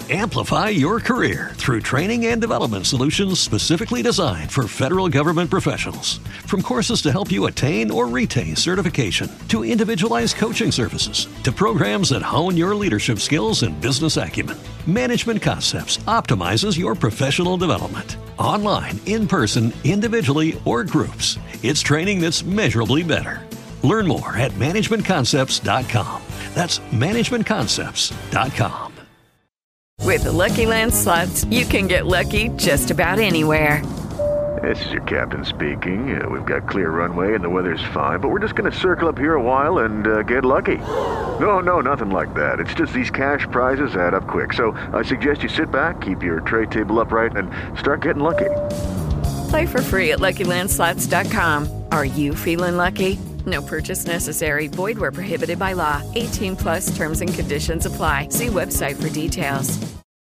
Amplify your career through training and development solutions specifically designed for federal government professionals. From courses to help you attain or retain certification, to individualized coaching services, to programs that hone your leadership skills and business acumen, Management Concepts optimizes your professional development. Online, in person, individually, or groups, it's training that's measurably better. Learn more at managementconcepts.com. That's managementconcepts.com. With the Lucky Land Slots, you can get lucky just about anywhere. This is your captain speaking. We've got clear runway and the weather's fine, but we're just going to circle up here a while and get lucky. No, nothing like that. It's just these cash prizes add up quick. So I suggest you sit back, keep your tray table upright, and start getting lucky. Play for free at LuckyLandSlots.com. Are you feeling lucky? No purchase necessary. Void where prohibited by law. 18 plus terms and conditions apply. See website for details.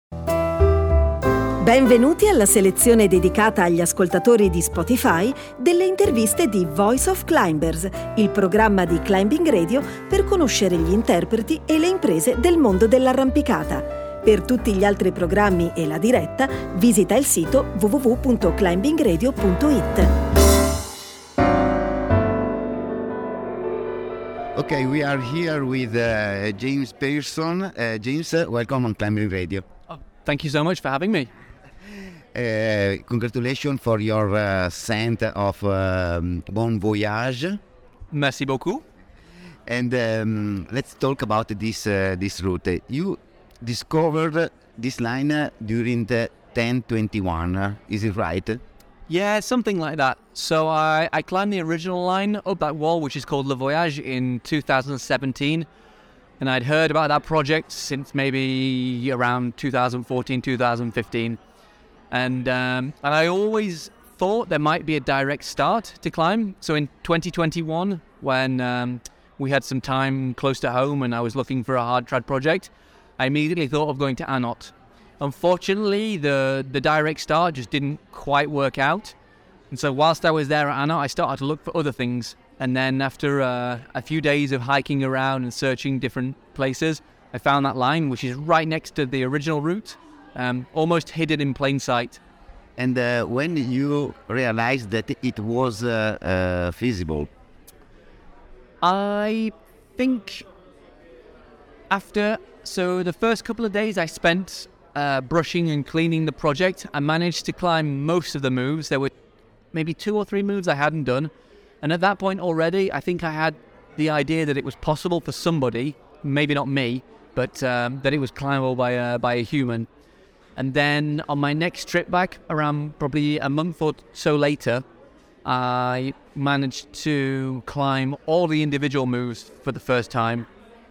Benvenuti alla selezione dedicata agli ascoltatori di Spotify delle interviste di Voice of Climbers, il programma di Climbing Radio per conoscere gli interpreti e le imprese del mondo dell'arrampicata. Per tutti gli altri programmi e la diretta, visita il sito www.climbingradio.it. Okay, we are here with James Pearson. James, welcome on Climbing Radio. Oh, thank you so much for having me. Congratulations for your ascent of Bon Voyage. Merci beaucoup. And let's talk about this route. You discovered this line during the 1021, is it right? Yeah, something like that. So I climbed the original line up that wall, which is called Le Voyage, in 2017. And I'd heard about that project since maybe around 2014, 2015. And I always thought there might be a direct start to climb. So in 2021, when we had some time close to home and I was looking for a hard trad project, I immediately thought of going to Anot. Unfortunately, the direct start just didn't quite work out. And so whilst I was there at Anot, I started to look for other things. And then after a few days of hiking around and searching different places, I found that line, which is right next to the original route. Almost hidden in plain sight. And when you realized that it was feasible? I think so the first couple of days I spent brushing and cleaning the project, I managed to climb most of the moves. There were maybe 2 or 3 moves I hadn't done. And at that point already, I think I had the idea that it was possible for somebody, maybe not me, but that it was climbable by a human. And then on my next trip back, around probably a month or so later, I managed to climb all the individual moves for the first time.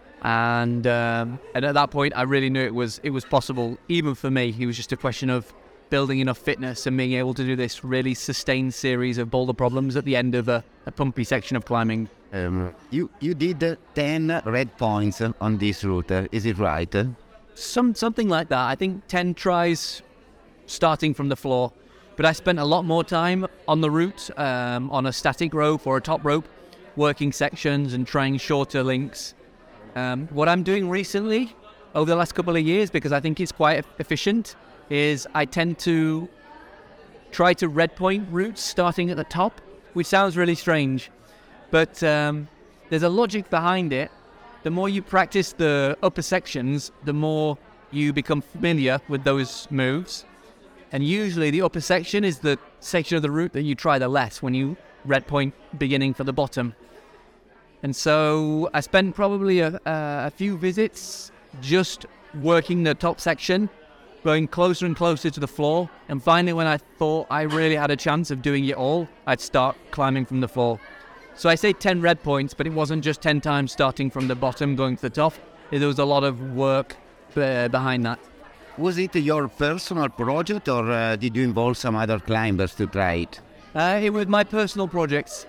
And at that point, I really knew it was possible, even for me. It was just a question of building enough fitness and being able to do this really sustained series of boulder problems at the end of a pumpy section of climbing. You did 10 red points on this route, is it right? Something like that. I think 10 tries starting from the floor. But I spent a lot more time on the route, on a static rope or a top rope, working sections and trying shorter links. What I'm doing recently, over the last couple of years, because I think it's quite efficient, is I tend to try to red point routes starting at the top, which sounds really strange. But there's a logic behind it. The more you practice the upper sections, the more you become familiar with those moves. And usually the upper section is the section of the route that you try the less when you red point beginning for the bottom. And so I spent probably a few visits just working the top section, going closer and closer to the floor. And finally, when I thought I really had a chance of doing it all, I'd start climbing from the floor. So I say 10 red points, but it wasn't just 10 times starting from the bottom going to the top. There was a lot of work behind that. Was it your personal project, or did you involve some other climbers to try it? It was my personal project.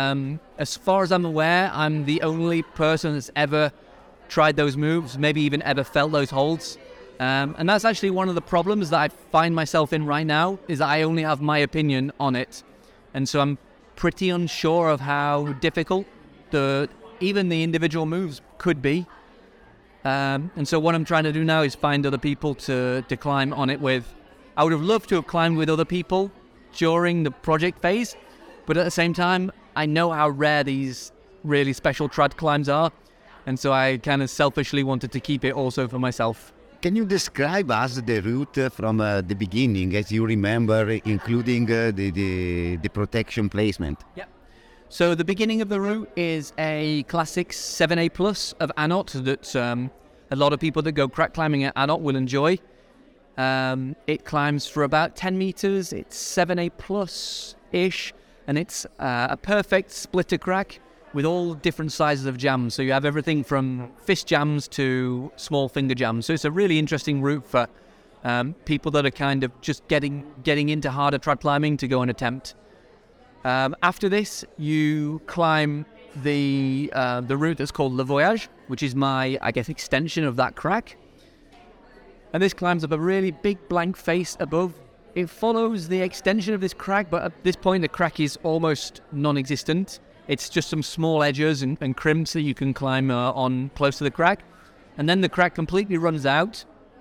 As far as I'm aware, I'm the only person that's ever tried those moves, maybe even ever felt those holds. And that's actually one of the problems that I find myself in right now, is that I only have my opinion on it. And so I'm pretty unsure of how difficult even the individual moves could be. And so what I'm trying to do now is find other people to climb on it with. I would have loved to have climbed with other people during the project phase, but at the same time, I know how rare these really special trad climbs are, and so I kind of selfishly wanted to keep it also for myself. Can you describe us the route from the beginning, as you remember, including the protection placement? Yeah. So the beginning of the route is a classic 7A plus of Anot that a lot of people that go crack climbing at Anot will enjoy. It climbs for about 10 meters. It's 7A plus-ish, and it's a perfect splitter crack with all different sizes of jams. So you have everything from fist jams to small finger jams. So it's a really interesting route for people that are kind of just getting into harder trad climbing to go and attempt. After this, you climb the route that's called Le Voyage, which is my, I guess, extension of that crack. And this climbs up a really big blank face above. It follows the extension of this crack, but at this point the crack is almost non-existent. It's just some small edges and crimps that you can climb on close to the crack. And then the crack completely runs out.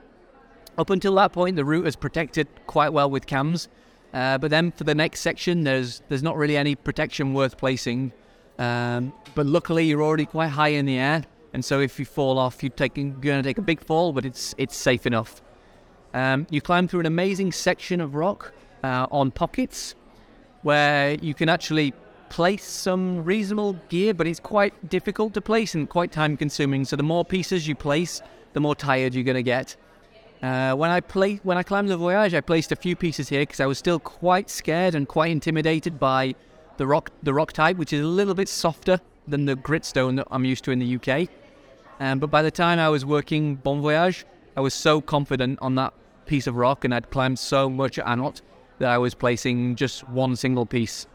Up until that point, the route is protected quite well with cams. But then for the next section, there's not really any protection worth placing. But luckily, you're already quite high in the air. And so if you fall off, you're going to take a big fall, but it's safe enough. You climb through an amazing section of rock on pockets where you can actually place some reasonable gear, but it's quite difficult to place and quite time consuming. So the more pieces you place, the more tired you're going to get. When I climbed the Voyage, I placed a few pieces here because I was still quite scared and quite intimidated by the rock type, which is a little bit softer than the gritstone that I'm used to in the UK. But by the time I was working Bon Voyage, I was so confident on that piece of rock and I'd climbed so much at Anot that I was placing just one single piece.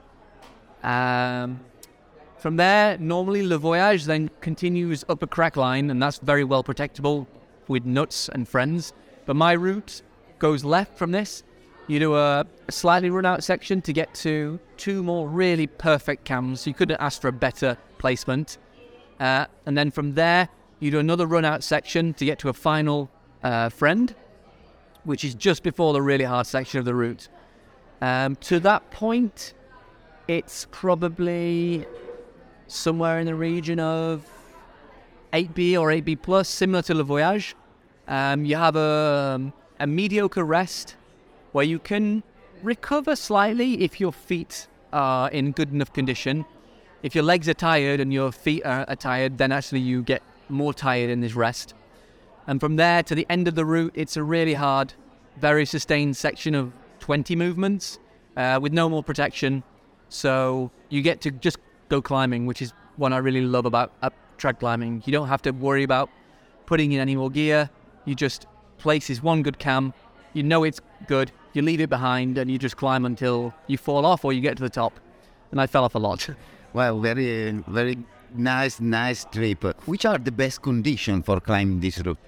From there, normally Le Voyage then continues up a crack line, and that's very well protectable with nuts and friends. But my route goes left from this. You do a slightly run out section to get to two more really perfect cams. You couldn't ask for a better placement. And then from there, you do another run out section to get to a final friend, which is just before the really hard section of the route. To that point, it's probably somewhere in the region of 8B or 8B plus, similar to Le Voyage. You have a mediocre rest where you can recover slightly if your feet are in good enough condition. If your legs are tired and your feet are tired, then actually you get more tired in this rest. And from there to the end of the route, it's a really hard, very sustained section of 20 movements with no more protection. So you get to just go climbing, which is what I really love about trad climbing. You don't have to worry about putting in any more gear. You just place this one good cam. You know it's good. You leave it behind and you just climb until you fall off or you get to the top. And I fell off a lot. Well, very, very nice trip. Which are the best conditions for climbing this route?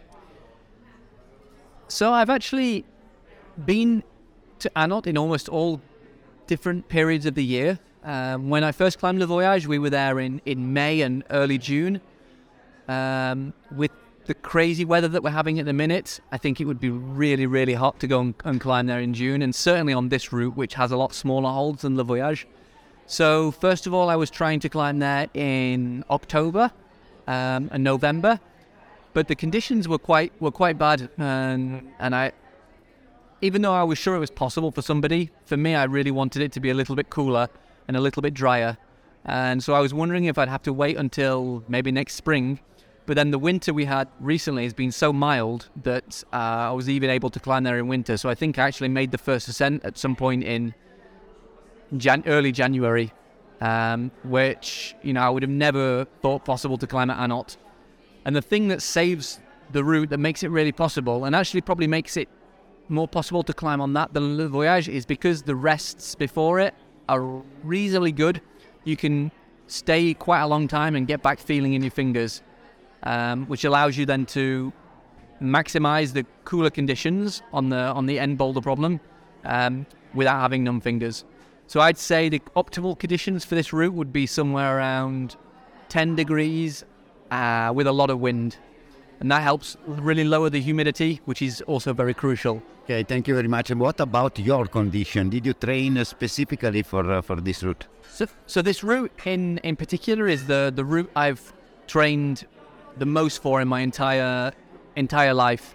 So I've actually been to Anot in almost all different periods of the year. When I first climbed Le Voyage, we were there in May and early June. With the crazy weather that we're having at the minute, I think it would be really, really hot to go and climb there in June, and certainly on this route, which has a lot smaller holds than Le Voyage. So first of all, I was trying to climb there in October and November, but the conditions were quite bad, and I, even though I was sure it was possible for somebody, for me, I really wanted it to be a little bit cooler and a little bit drier. And so I was wondering if I'd have to wait until maybe next spring. But then the winter we had recently has been so mild that I was even able to climb there in winter. So I think I actually made the first ascent at some point in early January, which, I would have never thought possible to climb at Anot. And the thing that saves the route, that makes it really possible, and actually probably makes it more possible to climb on that than Le Voyage, is because the rests before it are reasonably good. You can stay quite a long time and get back feeling in your fingers, which allows you then to maximize the cooler conditions on the end boulder problem without having numb fingers. So I'd say the optimal conditions for this route would be somewhere around 10 degrees with a lot of wind. and that helps really lower the humidity, which is also very crucial. Okay, thank you very much. And what about your condition? Did you train specifically for this route? So this route in particular is the route I've trained the most for in my entire life.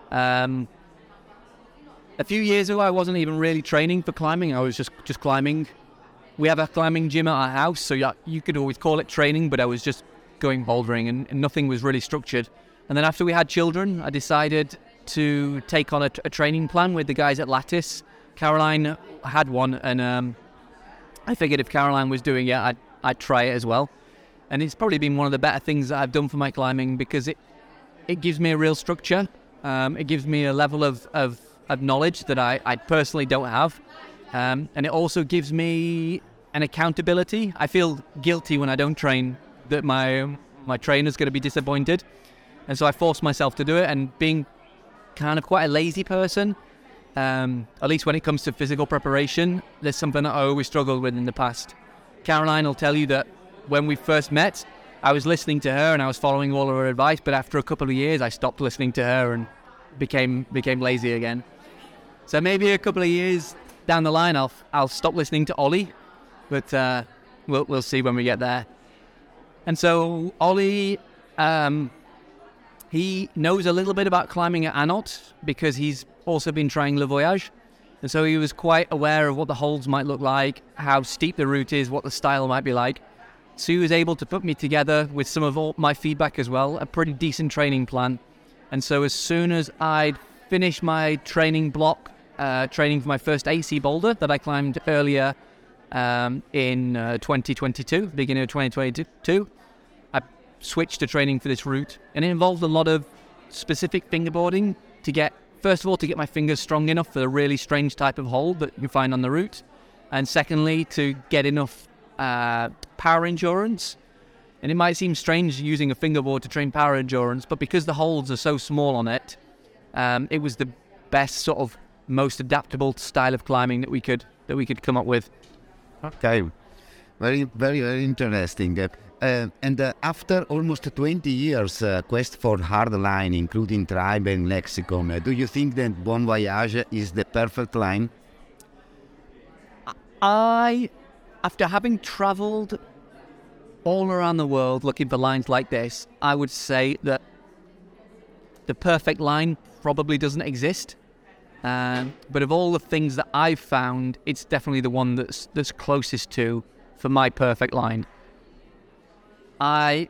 A few years ago, I wasn't even really training for climbing. I was just climbing. We have a climbing gym at our house, so you could always call it training, but I was just going bouldering and nothing was really structured. And then after we had children, I decided to take on a training plan with the guys at Lattice. Caroline had one, and I figured if Caroline was doing it, I'd try it as well. And it's probably been one of the better things that I've done for my climbing, because it gives me a real structure. It gives me a level of knowledge that I personally don't have. And it also gives me an accountability. I feel guilty when I don't train, that my trainer's going to be disappointed. And so I force myself to do it, and being kind of quite a lazy person, at least when it comes to physical preparation, there's something that I always struggled with in the past. Caroline will tell you that when we first met, I was listening to her and I was following all of her advice, but after a couple of years, I stopped listening to her and became lazy again. So maybe a couple of years down the line, I'll stop listening to Ollie, but we'll see when we get there. And so Ollie, he knows a little bit about climbing at Anot because he's also been trying Le Voyage. And so he was quite aware of what the holds might look like, how steep the route is, what the style might be like. So he was able to put me together with some of all my feedback as well, a pretty decent training plan. And so as soon as I'd finished my training block, training for my first AC boulder that I climbed earlier in 2022, beginning of 2022, I switched to training for this route. And it involved a lot of specific fingerboarding to get, first of all, to get my fingers strong enough for the really strange type of hold that you find on the route. And secondly, to get enough power endurance. And it might seem strange using a fingerboard to train power endurance, but because the holds are so small on it, it was the best sort of most adaptable style of climbing that we could come up with. Okay, very, very, very interesting. And after almost 20 years quest for hard line, including tribe and lexicon, do you think that Bon Voyage is the perfect line? After having travelled all around the world looking for lines like this, I would say that the perfect line probably doesn't exist. But of all the things that I've found, it's definitely the one that's closest to for my perfect line. My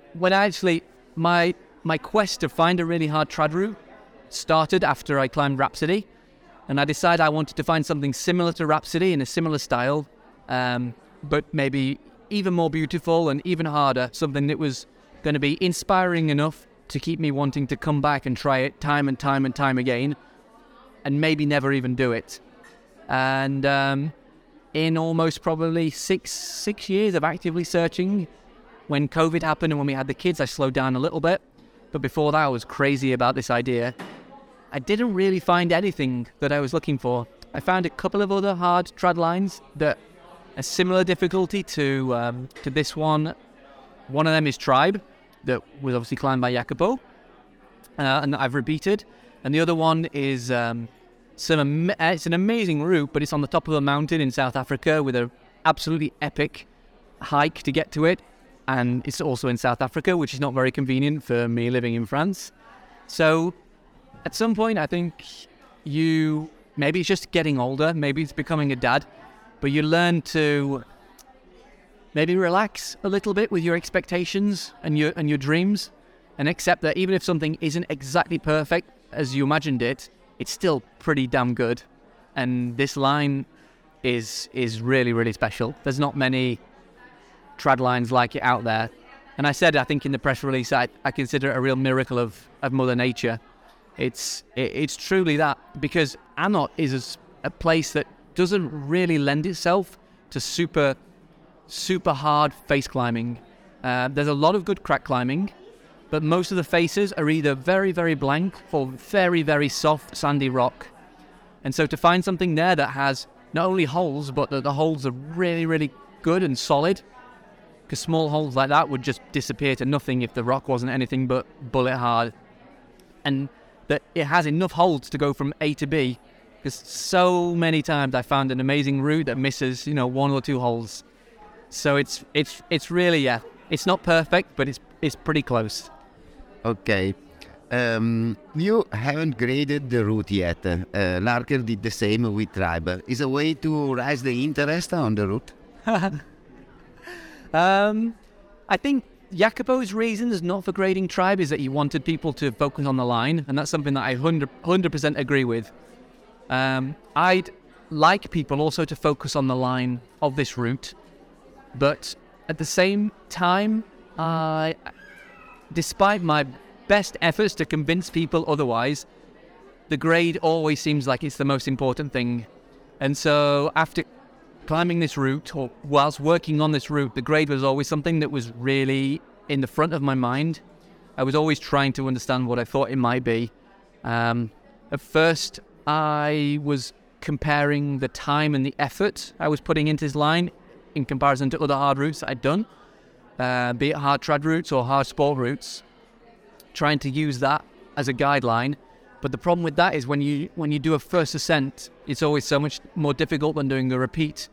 quest to find a really hard trad route started after I climbed Rhapsody, and I decided I wanted to find something similar to Rhapsody in a similar style, but maybe even more beautiful and even harder, something that was going to be inspiring enough to keep me wanting to come back and try it time and time and time again, and maybe never even do it. And in almost probably six years of actively searching, when COVID happened and when we had the kids, I slowed down a little bit. But before that, I was crazy about this idea. I didn't really find anything that I was looking for. I found a couple of other hard trad lines that a similar difficulty to this one. One of them is Tribe, that was obviously climbed by Jacopo, and that I've repeated. And the other one is it's an amazing route, but it's on the top of a mountain in South Africa with an absolutely epic hike to get to it. And it's also in South Africa, which is not very convenient for me living in France. So at some point, I think maybe it's just getting older, maybe it's becoming a dad, but you learn to maybe relax a little bit with your expectations and your dreams, and accept that even if something isn't exactly perfect as you imagined it, it's still pretty damn good. And this line is really, really special. There's not many trad lines like it out there. And I said, I think in the press release, I consider it a real miracle of Mother Nature. It's truly that, because Anot is a place that doesn't really lend itself to super hard face climbing. There's a lot of good crack climbing, but most of the faces are either very, very blank or very, very soft sandy rock. And so to find something there that has not only holes, but that the holes are really, really good and solid, because small holes like that would just disappear to nothing if the rock wasn't anything but bullet hard. and that it has enough holds to go from A to B. Because so many times I found an amazing route that misses, 1 or 2 holes. So it's really, it's not perfect, but it's pretty close. Okay. You haven't graded the route yet. Larker did the same with Tribe. Is a way to raise the interest on the route? I think Jacopo's reasons not for grading Tribe is that he wanted people to focus on the line, and that's something that I 100% agree with. I'd like people also to focus on the line of this route, but at the same time, despite my best efforts to convince people otherwise, the grade always seems like it's the most important thing. And so after climbing this route, or whilst working on this route, the grade was always something that was really in the front of my mind. I was always trying to understand what I thought it might be. At first, I was comparing the time and the effort I was putting into this line in comparison to other hard routes that I'd done, be it hard trad routes or hard sport routes, trying to use that as a guideline. But the problem with that is when you do a first ascent, it's always so much more difficult than doing a repeat.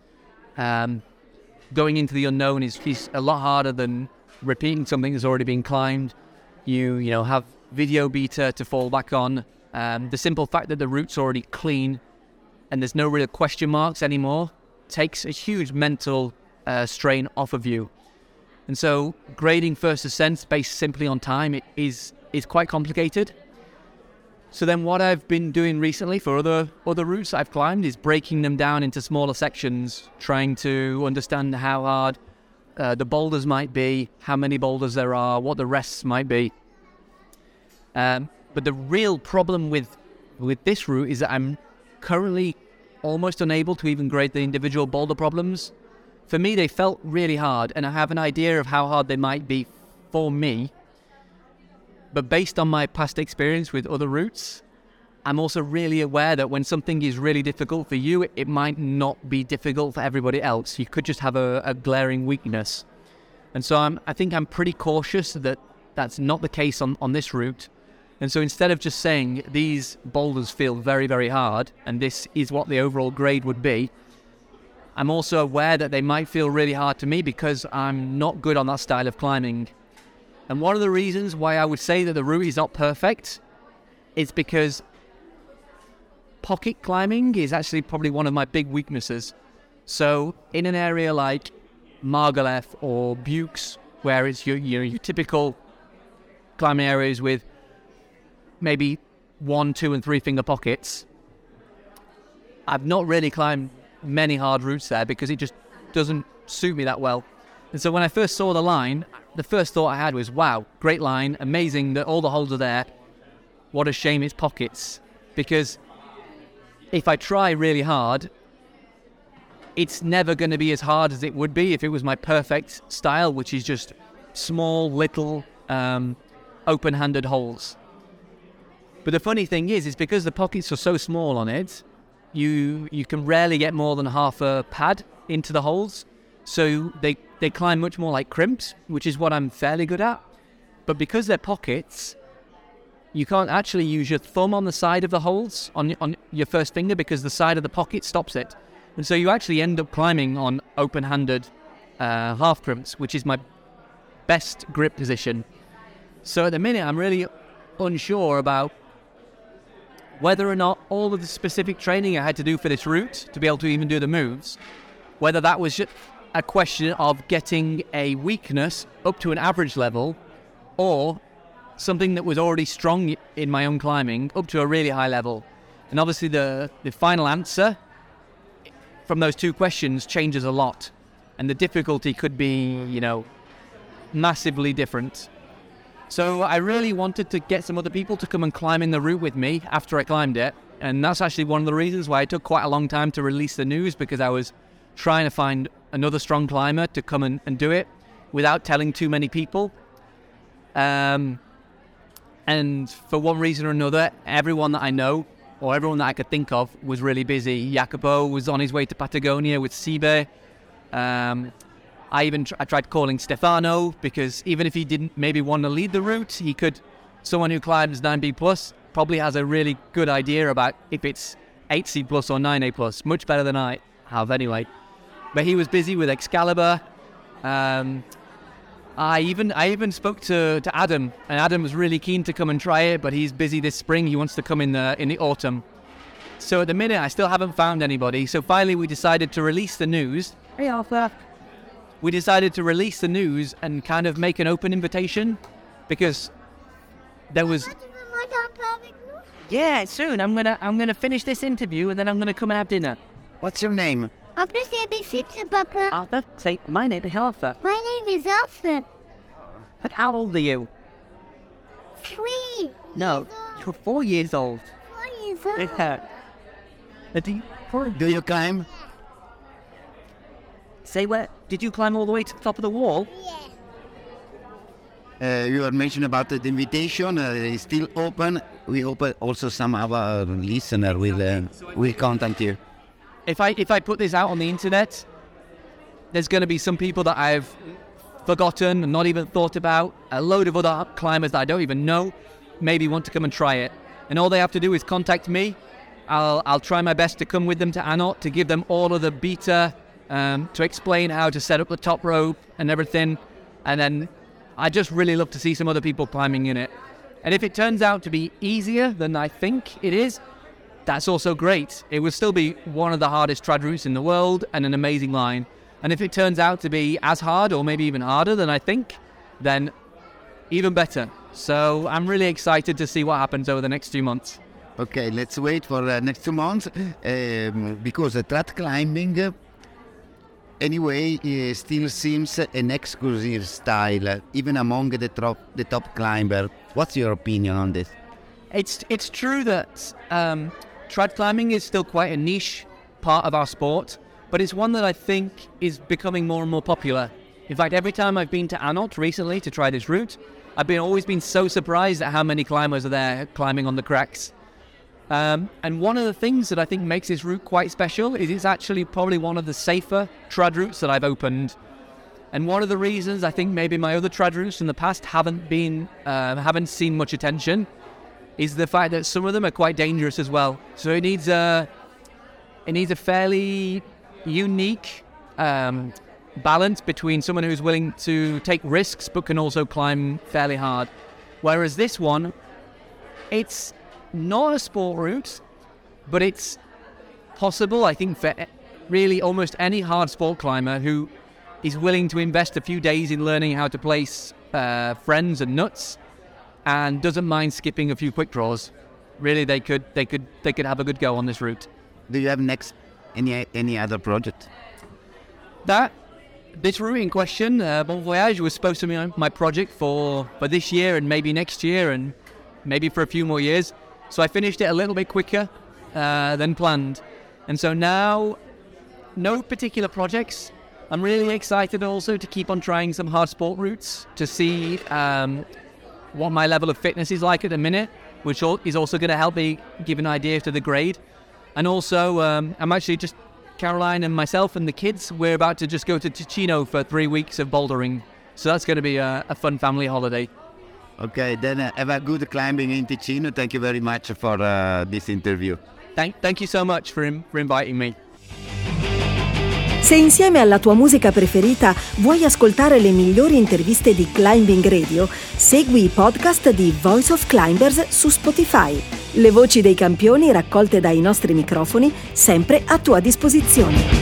Going into the unknown is a lot harder than repeating something that's already been climbed. You have video beta to fall back on. The simple fact that the route's already clean and there's no real question marks anymore takes a huge mental strain off of you. And so grading first ascents based simply on time is quite complicated. So then what I've been doing recently for other routes I've climbed is breaking them down into smaller sections, trying to understand how hard the boulders might be, how many boulders there are, what the rests might be. But the real problem with this route is that I'm currently almost unable to even grade the individual boulder problems. For me, they felt really hard, and I have an idea of how hard they might be for me. But based on my past experience with other routes, I'm also really aware that when something is really difficult for you, it might not be difficult for everybody else. You could just have a glaring weakness. And so I think I'm pretty cautious that that's not the case on this route. And so instead of just saying these boulders feel very, very hard and this is what the overall grade would be, I'm also aware that they might feel really hard to me because I'm not good on that style of climbing. And one of the reasons why I would say that the route is not perfect is because pocket climbing is actually probably one of my big weaknesses. So in an area like Margalef or Buchs, where it's your typical climbing areas with maybe 1, 2 and 3 finger pockets, I've not really climbed many hard routes there because it just doesn't suit me that well. And so when I first saw the line, the first thought I had was, wow, great line, amazing that all the holes are there. What a shame it's pockets. Because if I try really hard, it's never going to be as hard as it would be if it was my perfect style, which is just small, little, open-handed holes. But the funny thing is because the pockets are so small on it, you can rarely get more than half a pad into the holes. So they climb much more like crimps, which is what I'm fairly good at. But because they're pockets, you can't actually use your thumb on the side of the holes on your first finger because the side of the pocket stops it. And so you actually end up climbing on open-handed half crimps, which is my best grip position. So at the minute, I'm really unsure about whether or not all of the specific training I had to do for this route to be able to even do the moves, whether that was just a question of getting a weakness up to an average level or something that was already strong in my own climbing up to a really high level. And obviously the final answer from those two questions changes a lot. And the difficulty could be, massively different. So I really wanted to get some other people to come and climb in the route with me after I climbed it. And that's actually one of the reasons why it took quite a long time to release the news, because I was trying to find another strong climber to come and do it without telling too many people. And for one reason or another, everyone that I know or everyone that I could think of was really busy. Jacopo was on his way to Patagonia with Sibe. I tried calling Stefano because even if he didn't maybe want to lead the route, he could someone who climbs 9B plus probably has a really good idea about if it's 8C plus or 9A plus, much better than I have anyway. But he was busy with Excalibur. I even spoke to Adam, and Adam was really keen to come and try it, but he's busy this spring. He wants to come in the autumn. So at the minute, I still haven't found anybody. So finally, we decided to release the news. Hey, Arthur. We decided to release the news and kind of make an open invitation, because there was. Yeah, soon. I'm gonna finish this interview and then I'm gonna come and have dinner. What's your name? Arthur, say my name is Arthur. My name is Arthur. But how old are you? 3. No, you're 4 years old. 4 years old. Do you climb? Say where? Did you climb all the way to the top of the wall? Yeah. You were mentioning about the invitation. It's still open. We hope also some of our listener will contact you. If I put this out on the internet, there's going to be some people that I've forgotten and not even thought about. A load of other climbers that I don't even know maybe want to come and try it. And all they have to do is contact me. I'll try my best to come with them to Anot to give them all of the beta, to explain how to set up the top rope and everything. And then I just really love to see some other people climbing in it. And if it turns out to be easier than I think it is, that's also great. It will still be one of the hardest trad routes in the world and an amazing line. And if it turns out to be as hard or maybe even harder than I think, then even better. So I'm really excited to see what happens over the next 2 months. Okay, let's wait for the next 2 months because trad climbing anyway still seems an exclusive style, even among the top climber. What's your opinion on this? It's true that trad climbing is still quite a niche part of our sport, but it's one that I think is becoming more and more popular. In fact, every time I've been to Anot recently to try this route, I've always been so surprised at how many climbers are there climbing on the cracks. And one of the things that I think makes this route quite special is it's actually probably one of the safer trad routes that I've opened. And one of the reasons I think maybe my other trad routes in the past haven't seen much attention is the fact that some of them are quite dangerous as well. So it needs a fairly unique balance between someone who's willing to take risks but can also climb fairly hard. Whereas this one, it's not a sport route, but it's possible, I think, for really almost any hard sport climber who is willing to invest a few days in learning how to place friends and nuts and doesn't mind skipping a few quick draws. Really, they could have a good go on this route. Do you have next any other project? This route in question, Bon Voyage, was supposed to be my project for this year and maybe next year and maybe for a few more years. So I finished it a little bit quicker than planned. And so now, no particular projects. I'm really excited also to keep on trying some hard sport routes to see what my level of fitness is like at the minute, which is also going to help me give an idea to the grade. And also, I'm actually just, Caroline and myself and the kids, we're about to just go to Ticino for 3 weeks of bouldering. So that's going to be a fun family holiday. Okay, then have a good climbing in Ticino. Thank you very much for this interview. Thank you so much for inviting me. Se insieme alla tua musica preferita vuoi ascoltare le migliori interviste di Climbing Radio, segui i podcast di Voice of Climbers su Spotify. Le voci dei campioni raccolte dai nostri microfoni, sempre a tua disposizione.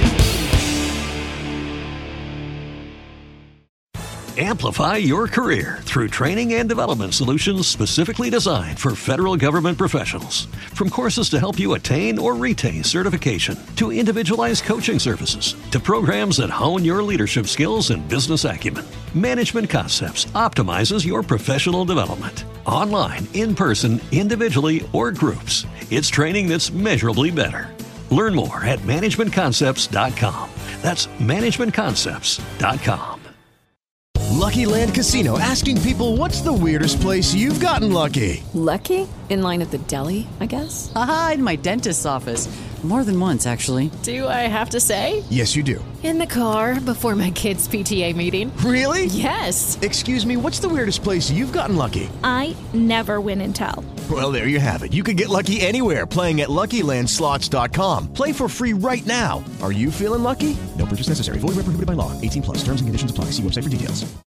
Amplify your career through training and development solutions specifically designed for federal government professionals. From courses to help you attain or retain certification, to individualized coaching services, to programs that hone your leadership skills and business acumen, Management Concepts optimizes your professional development. Online, in person, individually, or groups, it's training that's measurably better. Learn more at managementconcepts.com. That's managementconcepts.com. Lucky Land Casino, asking people, what's the weirdest place you've gotten lucky? Lucky? In line at the deli, I guess? Aha, in my dentist's office. More than once, actually. Do I have to say? Yes, you do. In the car before my kids' PTA meeting. Really? Yes. Excuse me, what's the weirdest place you've gotten lucky? I never win and tell. Well, there you have it. You can get lucky anywhere, playing at LuckyLandSlots.com. Play for free right now. Are you feeling lucky? No purchase necessary. Void where prohibited by law. 18+. Terms and conditions apply. See website for details.